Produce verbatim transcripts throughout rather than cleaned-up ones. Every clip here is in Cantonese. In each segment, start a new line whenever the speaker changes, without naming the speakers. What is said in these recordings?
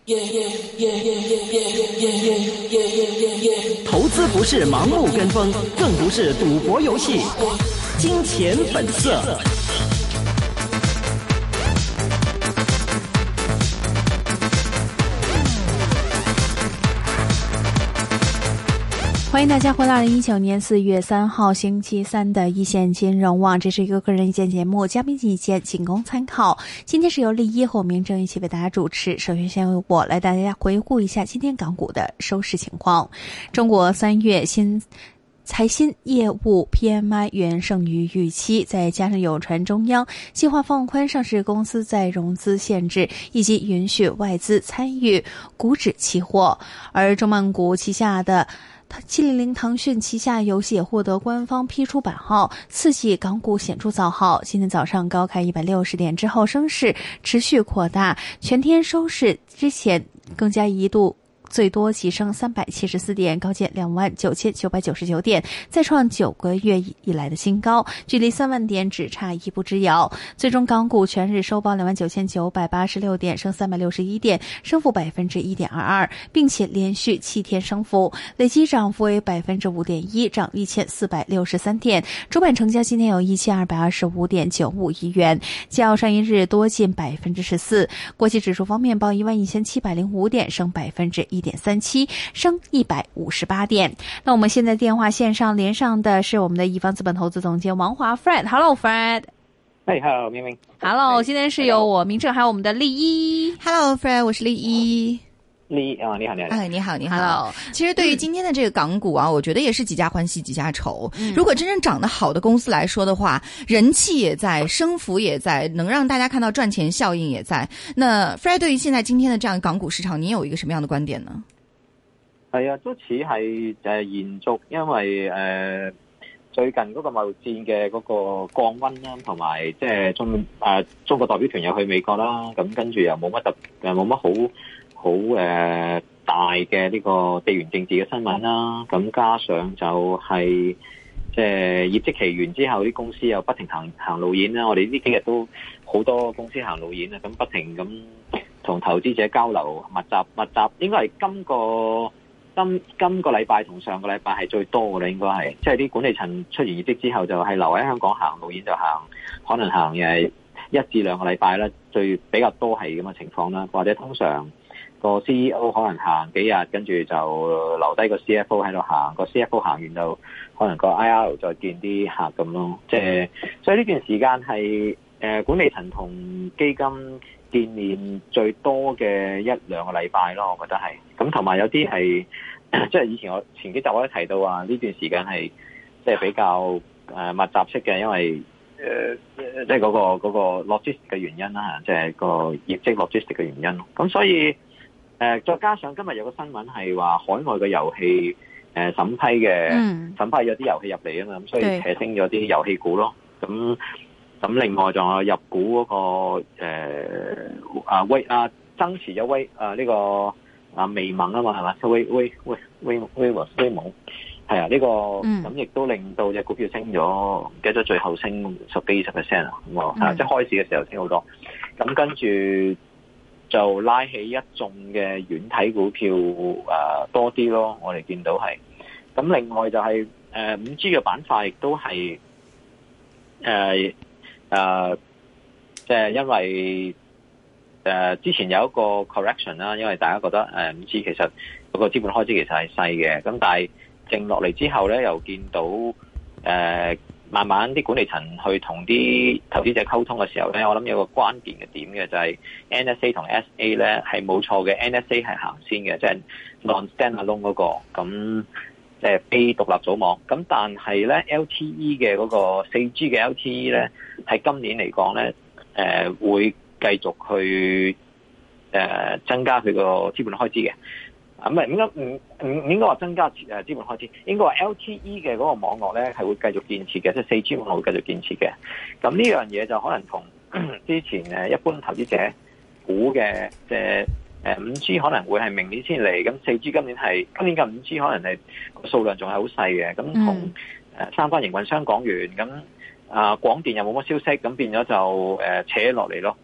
投资不是盲目跟风，更不是赌博游戏。金钱本色。
欢迎大家回到二零一九年四月三号星期三的一线金融网，这是一个个人意见节目，嘉宾意见仅供参考。今天是由立一和明正一起为大家主持。首先先由我来大家回顾一下今天港股的收市情况。中国三月新财新业务 P M I 远胜于预期，再加上有传中央计划放宽上市公司再融资限制，以及允许外资参与股指期货，而中曼谷旗下的七零零腾讯旗下游戏也获得官方批出版号，刺激港股显著造好。今天早上高开一百六十点之后，升势持续扩大，全天收市之前更加一度最多急升三百七十四点，高见两万九千九百九十九点，再创九个月以来的新高，距离三万点只差一步之遥。最终港股全日收报两万九千九百八十六点，升三百六十一点，升幅百分之一点二二，并且连续七天升幅，累计涨幅为百分之五点一，涨一千四百六十三点。主板成交今天有一千二百二十五点九五亿元，较上一日多近百分之十四。国际指数方面报一万一千七百零五点，升百分之一点三七，升一百五十八点。那我们现在电话线上连上的是我们的一方资本投资总监王华 Fred。Hello Fred。
哎、hey, ，Hello 明明。
Hello， 今天是由我明正还有我们的立一。
Hello Fred， 我是立一。
立啊，你好，你好，
哎，你好，你好。
Hello。
其实对于今天的这个港股啊，我觉得也是几家欢喜几家愁。嗯、如果真正涨得好的公司来说的话，人气也在，升幅也在，能让大家看到賺錢效應也在。那 Fred 對於現在今天的這樣港股市場，你有一個什麼樣的觀點呢？
係啊，都似係誒延續，因為誒、呃、最近嗰個貿易戰嘅嗰個降溫啦，同埋即係中誒、呃、中國代表團又去美國啦，咁跟住又冇乜特誒冇乜好好誒、呃、大嘅呢個地緣政治嘅新聞啦，咁加上就係即係業績期完之後，啲公司又不停行行路演啦，我哋呢幾日都好多公司行路演啊，咁不停咁同投資者交流，密集密集，應該係今個。今今個禮拜同上個禮拜係最多嘅啦，應該係，即係啲管理層出完業績之後就係留喺香港行路演就行，可能行誒一至兩個禮拜啦，最比較多係咁嘅情況啦，或者通常個 C E O 可能行幾日，跟住就留低個 C F O 喺度行，個 C F O 行完就可能個 I R 再見啲客咁咯，即係所以呢段時間係誒管理層同基金見面最多嘅一兩個禮拜咯，我覺得係。咁同埋有啲係，即係以前我前幾集我都提到話，呢段時間係即係比較誒密集式嘅，因為誒即係嗰個嗰個 logistic 嘅原因啦，即係個業績 logistic 嘅原因。咁所以誒再加上今日有個新聞係話海外嘅遊戲誒審批嘅，嗯、審批咗啲遊戲入嚟啊嘛，咁所以扯升咗啲遊戲股咯。咁咁另外仲有入股嗰、那個誒啊威啊增持咗威啊呢、這個啊微盟啊嘛係嘛，威威威威威威盟係啊呢、這個咁亦、嗯、都令到隻股票升咗，唔記得最後升十幾二十 percent 啊，咁啊即係開市嘅時候升好多，咁跟住就拉起一眾嘅軟體股票啊多啲咯，我哋見到係。咁另外就係誒五 G 嘅板塊亦都係誒。誒、呃，即係因為誒、呃、之前有一個 correction 啦，因為大家覺得誒五 G 其實嗰個資本開支其實係細嘅，咁但係靜落嚟之後咧，又見到誒、呃、慢慢啲管理層去同啲投資者溝通嘅時候咧，我諗有個關鍵嘅點嘅就係 N S A 同 S A 咧係冇錯嘅 ，N S A 係行先嘅，即係 non-standalone 嗰個咁。即係非獨立組網，咁但係咧 L T E 嘅嗰個四 G 嘅 L T E 咧，喺今年嚟講咧，誒、呃、會繼續去誒、呃、增加佢個資本開支嘅，啊唔係應該唔唔唔應該話增加誒資本開支，應該話 L T E 嘅嗰個網絡咧係會繼續建設嘅，即係四 G 網絡會繼續建設嘅。咁呢樣嘢就可能同之前誒一般投資者估嘅即係。誒五 G 可能會係明年先嚟，咁四 G 今年係今年嘅五 G 可能係個數量仲係好細嘅，咁同誒三間營運商講完，咁啊廣電又冇乜消息，咁變咗就誒扯落嚟咯。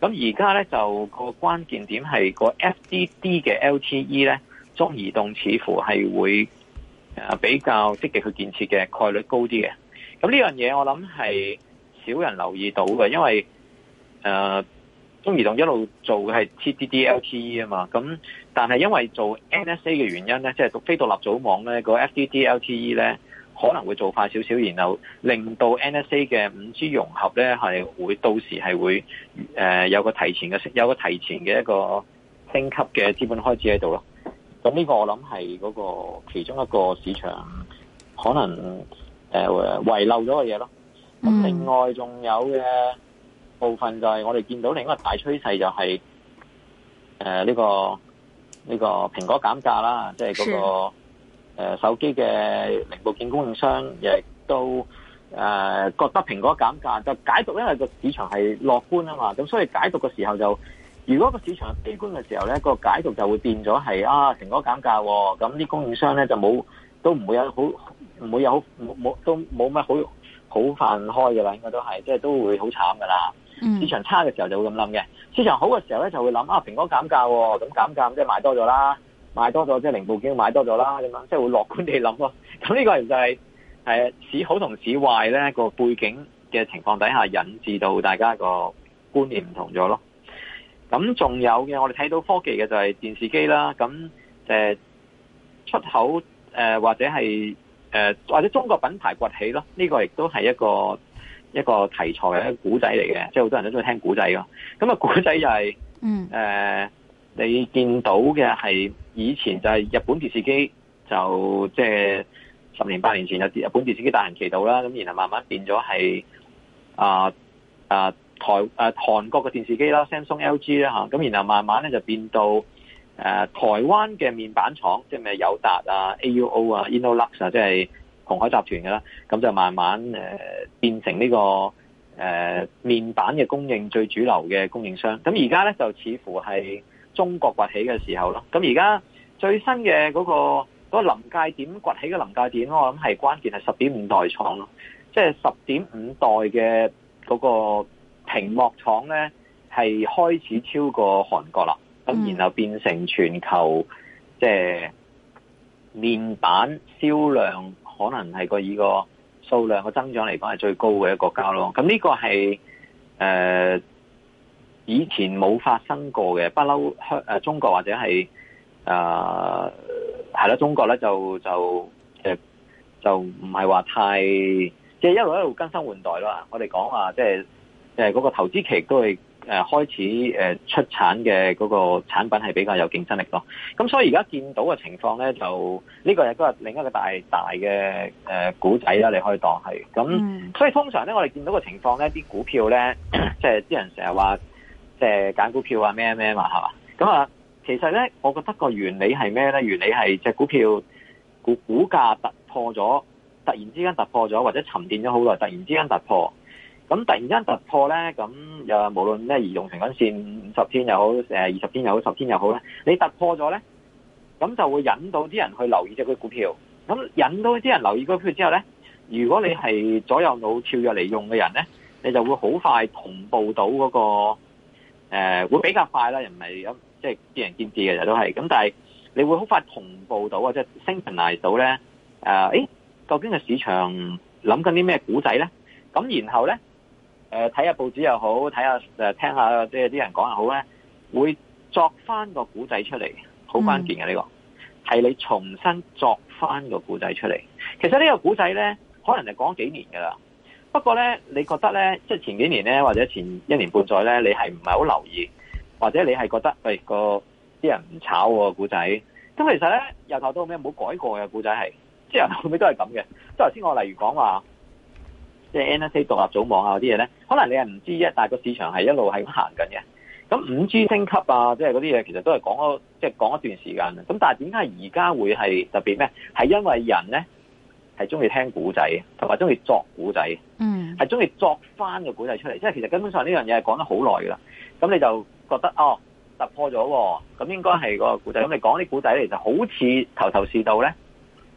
咁而家咧就個關鍵點係個 F D D 嘅 L T E 咧，中移動似乎係會誒比較積極去建設嘅概率高啲嘅。咁呢樣嘢我諗係少人留意到嘅，因為誒、呃、中移動一路做嘅係 T D D L T E 啊嘛。咁但係因為做 N S A 嘅原因咧，即係讀非獨立組網咧，個 F D D L T E 咧可能會做快少少，然後令到 N S A 嘅五 G 融合咧係會到時係會誒、呃、有個提前嘅有個提前嘅一個升級嘅資本開支喺度咯。咁呢個我諗係嗰個其中一個市場可能誒遺、呃、漏咗嘅嘢咯。咁另外仲有嘅部分就係我哋見到另一個大趨勢就係誒呢個呢、這個蘋果減價啦，即係嗰個。誒、呃，手機嘅零部件供應商亦都誒、呃、覺得蘋果減價，就解讀，因為個市場係樂觀啊嘛，咁所以解讀嘅時候就，如果個市場係悲觀嘅時候咧，個解讀就會變咗係啊蘋果減價，咁啲供應商咧就冇都唔會有好唔會有好冇冇都冇乜好好飯開噶啦，應該都係即係都會好慘噶啦。市場差嘅時候就會咁諗嘅，市場好嘅時候咧就會諗啊蘋果減價，咁減價即係買多咗啦。買多咗即係零部件買多咗啦，咁樣即係會樂觀地諗咯。咁呢個就係誒市好同市壞咧個背景嘅情況底下，引致到大家個觀念唔同咗咯。咁仲有嘅，我哋睇到科技嘅就係電視機啦。咁誒出口誒、呃、或者係誒、呃、或者中國品牌崛起咯。呢、這個亦都係一個一個題材嘅一個古仔嚟嘅，即係好多人都中意聽古仔咯。咁啊古仔就係、是、嗯誒。呃你見到嘅係以前就係日本電視機，就即係十年八年前有日本電視機大行其道啦，咁然後慢慢變咗係啊啊台啊韓國嘅電視機啦 ，Samsung、L G 啦嚇，咁然後慢慢咧就變到誒、啊、台灣嘅面板廠，即係咩友達啊、A U O 啊、Innolux 啊，即係鴻海集團嘅啦，咁就慢慢誒、呃、變成呢、這個誒、呃、面板嘅供應最主流嘅供應商。咁而家咧就似乎係中國崛起嘅時候咯，咁而家最新嘅嗰、那個嗰、那個臨界點崛起嘅臨界點，我諗係關鍵係十點五代廠咯，即係十點五代嘅嗰個屏幕廠咧係開始超過韓國啦，咁、嗯、然後變成全球即係、就是、面板銷量可能係個以個數量嘅增長嚟講係最高嘅一個國家咯，咁呢個係誒。呃以前冇發生過嘅，不嬲香誒中國或者係誒係啦，中國咧就就誒就唔係話太即係一路一路更新換代咯。我哋講話即係誒嗰個投資期都係誒開始誒出產嘅嗰個產品係比較有競爭力咯。咁所以而家見到嘅情況咧，就呢個亦都係另一個大大嘅誒股仔啦，你可以當係咁。嗯、所以通常咧，我哋見到嘅情況咧，啲股票咧，即係啲人成日話。即係揀股票啊咩咩嘛係嘛，咁啊其實咧，我覺得個原理係咩咧？原理係隻股票股股價突破咗，突然之間突破咗，或者沉澱咗好耐，突然之間突破。咁突然之間突破咧，咁又無論咩移動平均線五十天又好，誒二十天又好，十天又好咧，你突破咗咧，咁就會引到啲人去留意隻股票。咁引到啲人留意股票之後咧，如果你係左右腦跳躍嚟用嘅人咧，你就會好快同步到嗰個。誒、呃、會比較快啦，又唔係咁即係見仁見智嘅，就都係咁。但係你會好快同步到啊，即係 synchronize 到咧。誒、呃，誒究竟個市場諗緊啲咩股仔咧？咁然後咧，誒睇下報紙又好，睇下誒聽下即係啲人講又好咧，會作翻個股仔出嚟，好關鍵嘅呢個係你重新作翻個股仔出嚟。其實呢個股仔咧，可能係講咗幾年㗎啦。不過咧，你覺得咧，即係前幾年咧，或者前一年半載咧，你係唔係好留意，或者你係覺得喂個啲人唔炒喎股仔？咁其實咧，由頭到尾冇改過嘅股仔係，即係由頭到尾都係咁嘅。即係頭先我例如講話，即係 N S A 獨立組網啊嗰啲嘢咧，可能你係唔知啫，但係個市場係一路係咁行緊嘅。咁五 G 升級啊，即係嗰啲嘢，其實都係講咗，即係講一段時間。咁但係點解而家會係特別咩？係因為人咧。係中意聽古仔，同埋中意作古仔，嗯，係中意作翻個古仔出嚟。即係其實根本上呢樣嘢係講得好耐噶啦。咁你就覺得哦突破咗，咁應該係個古仔。咁你講啲古仔嚟就好似頭頭是道咧，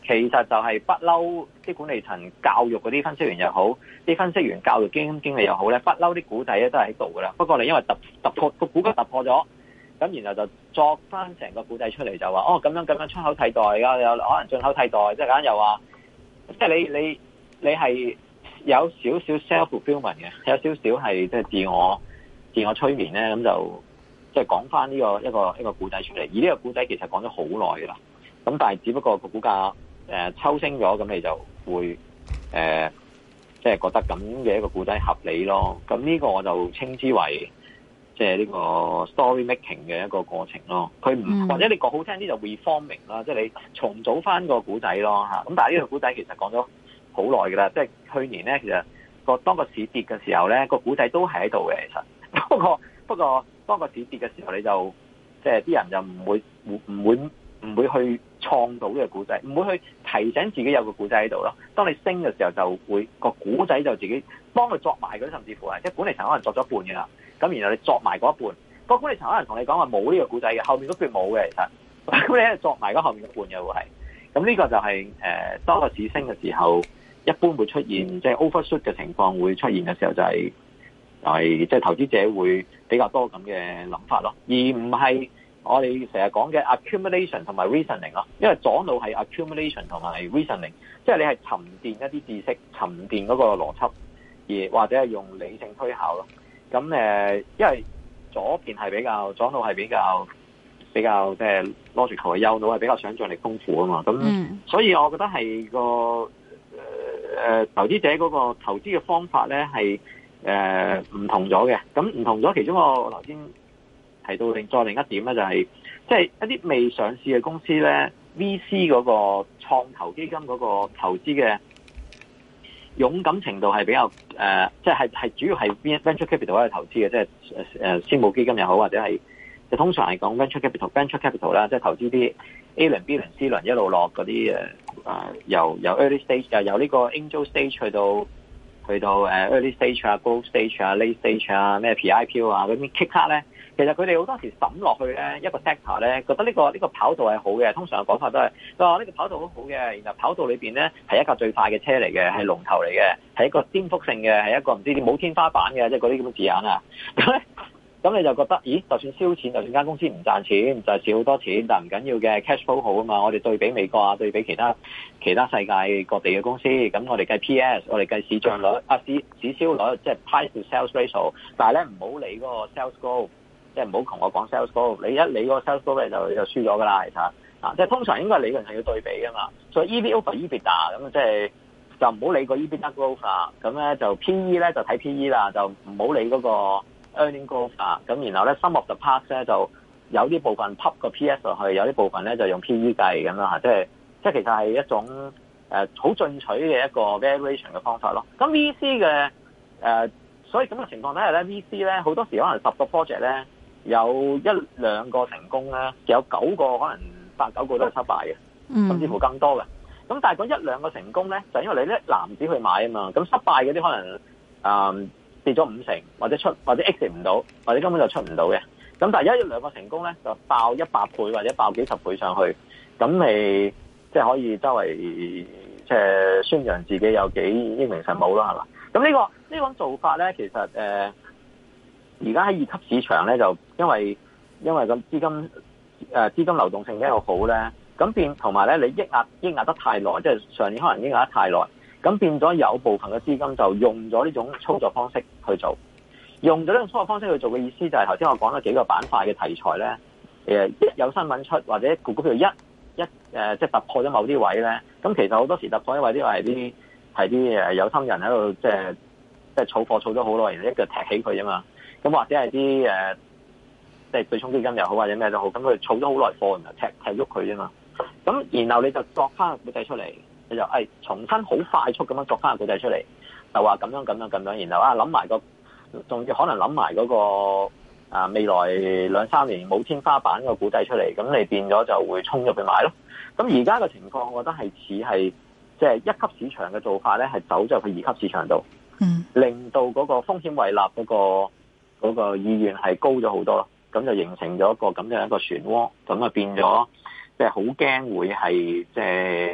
其實就係不嬲啲管理層教育嗰啲分析員又好，啲分析員教育基金經理又好咧，不嬲啲股仔咧都係喺度噶啦。不過你因為突突破個股價突破咗，咁然後就作翻成個股仔出嚟，就話哦咁樣咁樣出口替代㗎，有可能進口替代，即係間又話，即係你你你係有少少 self fulfillment 嘅，有少少係即係自我自我催眠咧，咁就即係講翻呢個一個一個股仔出嚟。而呢個股仔其實講咗好耐㗎啦，咁但係只不過個股價誒、呃、抽升咗，咁你就會誒即係覺得咁嘅一個股仔合理咯。咁呢個我就稱之為即係呢個 story making 嘅一個過程咯。佢唔、嗯、或者你講好聽啲就 reforming 啦，即係你重組翻個股仔咯嚇。咁但係呢個股仔其實講咗好耐㗎啦，即係去年咧其實個當個市跌嘅時候咧，個股仔都係喺度嘅。其實不過不過當個市跌嘅時候，你就即係啲人就唔會唔會唔會去創造呢個股仔，唔會去提醒自己有個股仔喺度咯。當你升嘅時候，就會個股仔就自己幫佢作埋嗰啲，甚至乎係即係管理層可能作咗一半嘅啦。咁然後你作埋嗰一半，個管理層可能同你講話冇呢個股仔嘅，後面嗰橛冇嘅其實。咁你喺度作埋嗰後面嘅半嘅會係。咁呢個就係、是、誒、呃、當個市升嘅時候，一般會出現即係、就是、overshoot 嘅情況會出現嘅時候、就是，就係就係即係投資者會比較多咁嘅諗法咯，而唔係我哋成日講嘅 accumulation 同埋 reasoning 咯。因為左腦係 accumulation 同埋 reasoning， 即係你係沉澱一啲知識、沉澱嗰個邏輯，而或者係用理性推考咯。咁誒，因為左邊係比較左腦係比較比較即係 logical 嘅，右腦係比較想像力豐富啊嘛。咁、嗯、所以我覺得係個誒、呃、投資者嗰個投資嘅方法咧係誒唔同咗嘅。咁唔同咗，其中我頭先提到另再另一點咧，就係即係一啲未上市嘅公司咧 ，V C 嗰個創投基金嗰個投資嘅勇敢程度係比較誒，即係係主要係 venture capital 去投資嘅，即係誒私募基金又好，或者係就通常係講 venture capital，venture capital 啦，即係投資啲 A 輪、B 輪、C 輪一路落嗰啲誒誒，由由 early stage 誒由呢個 angel stage 去到去到誒 early stage 啊、growth stage 啊、late stage 啊、咩 P I P O 啊嗰啲 kick 卡咧。其實佢哋好多時抌落去咧一個 sector 咧，覺得呢、這個呢、這個跑道係好嘅。通常嘅講法都係，佢話呢個跑道好好嘅，然後跑道裏邊咧係一架最快嘅車嚟嘅，係龍頭嚟嘅，係一個顛覆性嘅，係一個唔知冇天花板嘅，即係嗰啲咁嘅字眼啊。咁咧，咁你就覺得，咦？就算燒錢，就算間公司唔賺錢，就係少好多錢，但唔緊要嘅 cash flow 好啊嘛。我哋對比美國啊，對比其他其他世界各地嘅公司，咁我哋計 P S， 我哋計市賬率啊，市市銷率，即係 price to sales ratio。但係咧唔好理嗰個 sales growth。即係唔好同我講 sales growth，你一理嗰個 sales growth 就就輸咗噶啦，其實啊，即係通常應該理論係要對比噶嘛，所以 E V over EBITDA 咁即係就唔好理個 EBITDA growth 啦，咁咧就 P E 咧就睇 P E 啦，就唔好理嗰個 earning growth 啊，咁然後咧 sum of the parts 咧就有啲部分 pop 個 P S 落去，有啲部分咧就用 P E 計咁啦，即係即係其實係一種誒好、呃、進取嘅一個 valuation 嘅方法咯。咁 V C 嘅誒、呃，所以咁嘅情況底下咧 V C 咧好多時可能十個 project 咧。有一兩個成功咧，有九個可能八九個都係失敗嘅，甚至乎更多嘅。咁但係嗰一兩個成功咧，就因為你咧籃子去買啊嘛。咁失敗嗰啲可能啊、呃、跌咗五成，或者出或者 exit 唔到，或者根本就出唔到嘅。咁但係一兩個成功咧，就爆一百倍或者爆幾十倍上去，咁你即係可以周圍即係宣揚自己有幾英明神武啦，係嘛？咁呢個呢種做法咧，其實誒。呃而家喺二級市場咧，就因為因為咁資金誒、呃、資金流動性比較好咧，咁變同埋咧你抑壓抑壓得太耐，即係上年可能抑壓得太耐，咁變咗有部分嘅資金就用咗呢種操作方式去做，用咗呢種操作方式去做嘅意思就係頭先我講咗幾個板塊嘅題材咧，誒一有新聞出或者股股票一一誒、呃、即係突破咗某啲位咧，咁其實好多時突破啲位啲係啲係啲誒有心人喺度即係即係儲貨儲咗好耐，然後一腳踢起佢啫嘛。咁或者係啲誒，即係對沖基金又好，或者咩都好，咁佢儲咗好耐貨，然後踢踢喐佢啫嘛。咁然後你就作翻個股仔出嚟，你就誒、哎、重新好快速咁樣作翻個股仔出嚟，就話咁樣咁樣咁樣，然後啊諗埋個，仲要可能諗埋嗰個啊未來兩三年冇天花板個股仔出嚟，咁你變咗就會衝入去買咯。咁而家嘅情況，我覺得係似係即係一級市場嘅做法咧，係走咗去二級市場度，嗯，令到嗰個風險胃納嗰個。嗰個意願係高咗好多咯，咁就形成咗一個咁樣一個漩渦，咁啊變咗即係好驚會係即係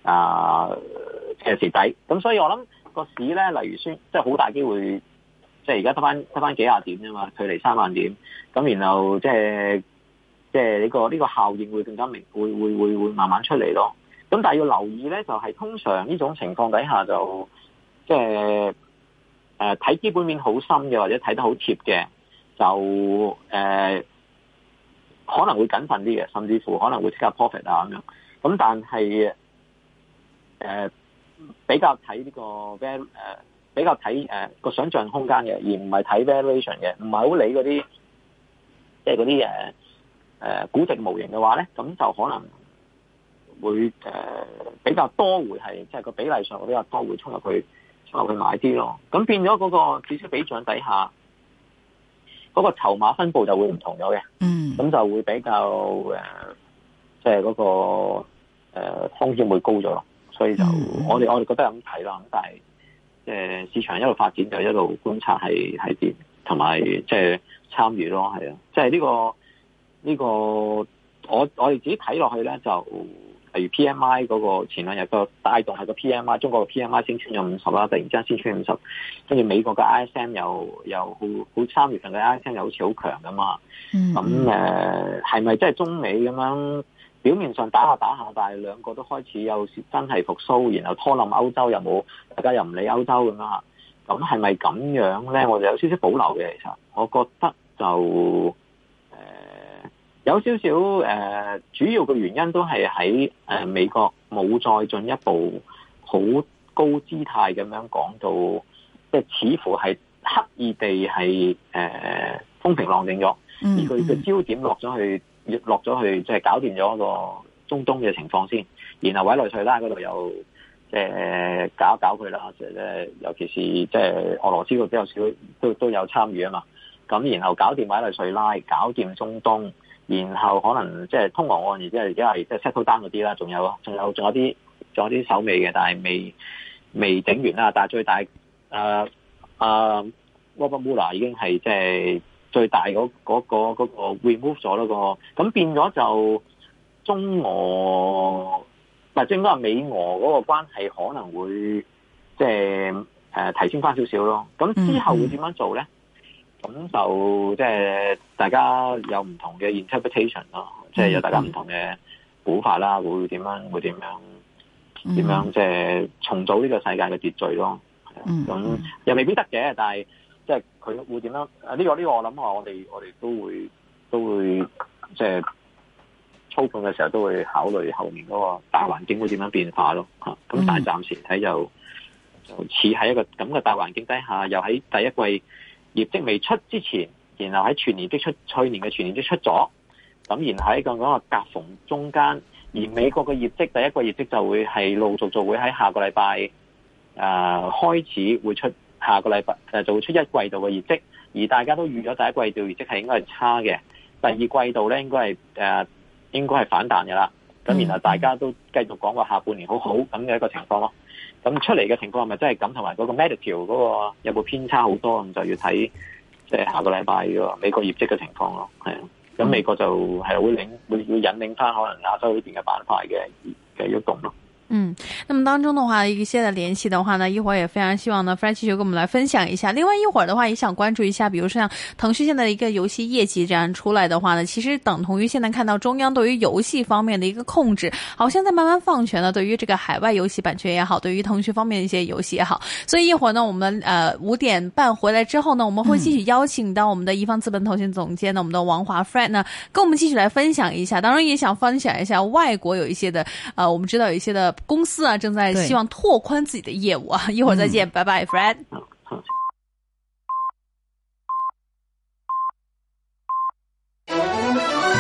啊嘅蝕底。咁所以我諗個市咧，例如宣即係好大機會，即係而家得翻得翻幾廿點啫嘛，距離三萬點。咁然後即係即係呢個呢、呢個效應會更加明，會會會會慢慢出嚟咯。咁但係要留意咧，就係、是、通常呢種情況底下就即係誒睇基本面好深嘅，或者睇得好貼嘅，就誒、呃、可能會謹慎啲嘅，甚至乎可能會即刻 profit 啊咁樣。咁但係誒、呃、比較睇呢、呢個 val 誒比較睇誒個想象空間嘅，而唔係睇 valuation 嘅，唔係好理嗰啲即係嗰啲誒誒估值模型嘅話咧，咁就可能會誒、呃、比較多會係即係個比例上會比較多會衝入去衝入去買啲咯。咁變咗嗰個指數比漲底下，嗰、嗰個籌碼分佈就會唔同咗嘅。嗯，咁就會比較誒即係嗰個誒、呃、風險會高咗咯。所以就、嗯、我哋我哋覺得咁睇啦。咁但係即係市場一路發展就一路觀察係係點，同埋即係參與咯，係啊。即係呢個呢個。呢個我我哋自己睇落去咧，就例如 P M I 嗰個前兩日個帶動係個 P M I， 中國嘅 P M I 升穿咗五十啦，突然之間升穿五十，跟住美國嘅 I S M 又又好好三月份嘅 I S M 又好似好強噶嘛，咁誒係咪即係中美咁樣表面上打下打下，但係兩個都開始有真係復甦，然後拖冧歐洲又冇，大家又唔理歐洲咁樣嚇，咁係咪咁樣咧？我就有少少保留嘅，其實我覺得就。有少少誒、呃，主要嘅原因都係喺誒美國冇再進一步好高姿態咁樣講到，即係似乎係刻意地係誒、呃、風平浪靜咗，而佢嘅焦點落咗去落咗去，即係搞掂咗個中東嘅情況先，然後委內瑞拉嗰度又即係搞一搞佢啦，即係尤其是即係俄羅斯嗰度比較少都都有參與啊嘛，咁然後搞掂委內瑞拉，搞掂中東。然後可能即係通俄岸，而即係而家係即係 settle down 嗰啲啦，仲有仲有仲有啲仲有啲手尾嘅，但係未未整完啦。但係最大誒誒 Robert Mueller 已經係即係最大嗰嗰個嗰個 remove 咗嗰個，咁變咗就中俄嗱，即係應該係美俄嗰個關係可能會即係誒提升翻少少咯。咁之後會點樣做咧？咁就即係大家有唔同嘅 interpretation 咯，即係有大家唔同嘅估法啦，會點樣會點樣點樣即係重組呢個世界嘅秩序咯。咁又未必得嘅，但係即係佢會點樣？啊呢個呢個我諗話我哋我哋都會都會即係操控嘅時候都會考慮後面嗰個大環境會點樣變化咯。嚇咁但係暫時睇就就似喺一個咁嘅大環境底下，又喺第一季業績未出之前，然後喺全年績出，去年嘅全年績出咗，咁然後喺個嗰個夾縫中間，而美國嘅業績第一個業績就會係陸續續會喺下個禮拜誒開始會出，下個禮拜誒就會出一季度嘅業績，而大家都預咗第一季度業績係應該係差嘅，第二季度咧應該係誒、呃、應該係反彈嘅啦，咁然後大家都繼續講話下半年好好咁嘅一個情況咯。咁出嚟嘅情況係咪真係咁？同埋嗰個 Medicare 嗰個有冇偏差好多？咁就要睇即係下個禮拜個美國業績嘅情況咯。係啊，咁美國就係會領會會引領翻可能亞洲呢邊嘅板塊嘅嘅喐動咯。
嗯，那麼當中的話，一些的聯繫的話呢，一會兒也非常希望呢 Fred 繼續跟我們來分享一下。另外一會兒的話，也想關注一下，比如說像騰訊現在的一個遊戲業績這樣出來的話呢，其實等同於現在看到中央對於遊戲方面的一個控制，好像在慢慢放權了。對於這個海外遊戲版權也好，對於騰訊方面的一些遊戲也好，所以一會兒呢，我們呃五點半回來之後呢，我們會繼續邀請到我們的一方資本投信總監呢，我們的王華 Fred 呢，跟我們繼續來分享一下。當然也想分享一下外國有一些的，呃，我們知道有一些的公司啊，正在希望拓寬自己的業務啊，一會兒再見，拜拜 ，Fred。